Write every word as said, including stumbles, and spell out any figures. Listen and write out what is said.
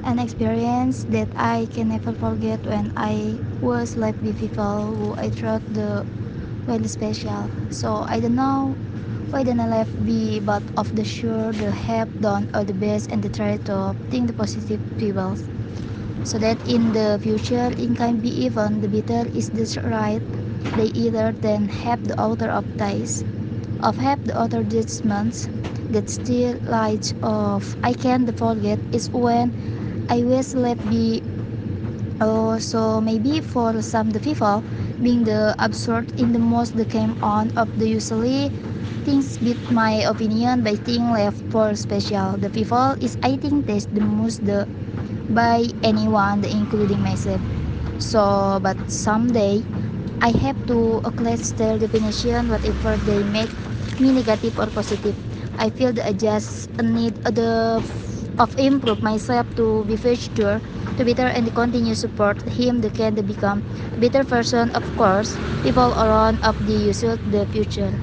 an experience that I can never forget when I was left with people who I thought the really special. So I don't know why didn't I left be but of the sure the have done all the best and the try to think the positive people. So that in the future it can be even the bitter is this right. They either then have the author of dice of have the other judgments that still light of I can't forget is when I was left be oh so maybe for some the people being the absurd in the most that came on of the usually things with my opinion by thing left for special the people is I think that's the most the by anyone including myself so but someday I have to acknowledge their definition whatever they make me negative or positive. I feel that I just need the of improve myself to be future to better and continue support him the can become a better version of course people around of the usual the future.